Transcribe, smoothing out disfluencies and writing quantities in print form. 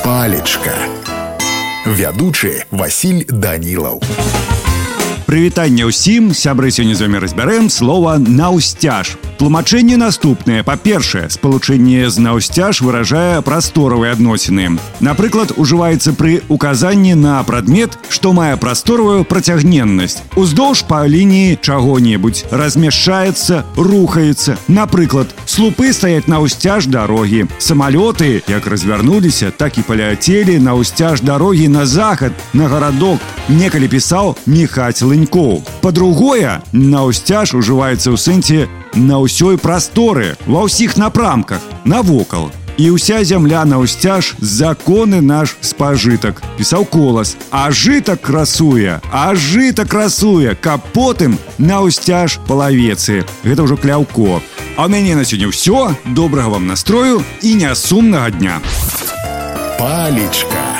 Палечка. Вядучы Васіль Данілаў. Прывітанне ўсім, сябры, сёння з вамі разбярэм слова «наўсцяж». Тлумачэнне наступнае. Па-першае, спалучэнне з «наўсцяж» выражае прасторавыя адносіны. Напрыклад, ужываецца пры указанні на прадмет, што мае прасторавую працягненнасць. Уздоўж па лініі чаго-небудзь размяшчаецца, рухаецца. Напрыклад, слупы стаяць наўсцяж дарогі. Самалёты, як развярнуліся, так і паляцелі наўсцяж дарогі на захад, на гарадок. Некалі пісаў Міхаць Лынькоў. Па-другое, наўсцяж ужываецца ў сэнсе на ўсёй прасторы, ва ўсіх напрамках, навокал. І ўся зямля наўсцяж законы наш спажытак, пісаў Колас. А жытак красуе, каб потым наўсцяж палавецы. Гэта ўжо Кляўко. А ў мяне на сёння ўсё. Добрага вам настрою і нясумнага дня. Палечка.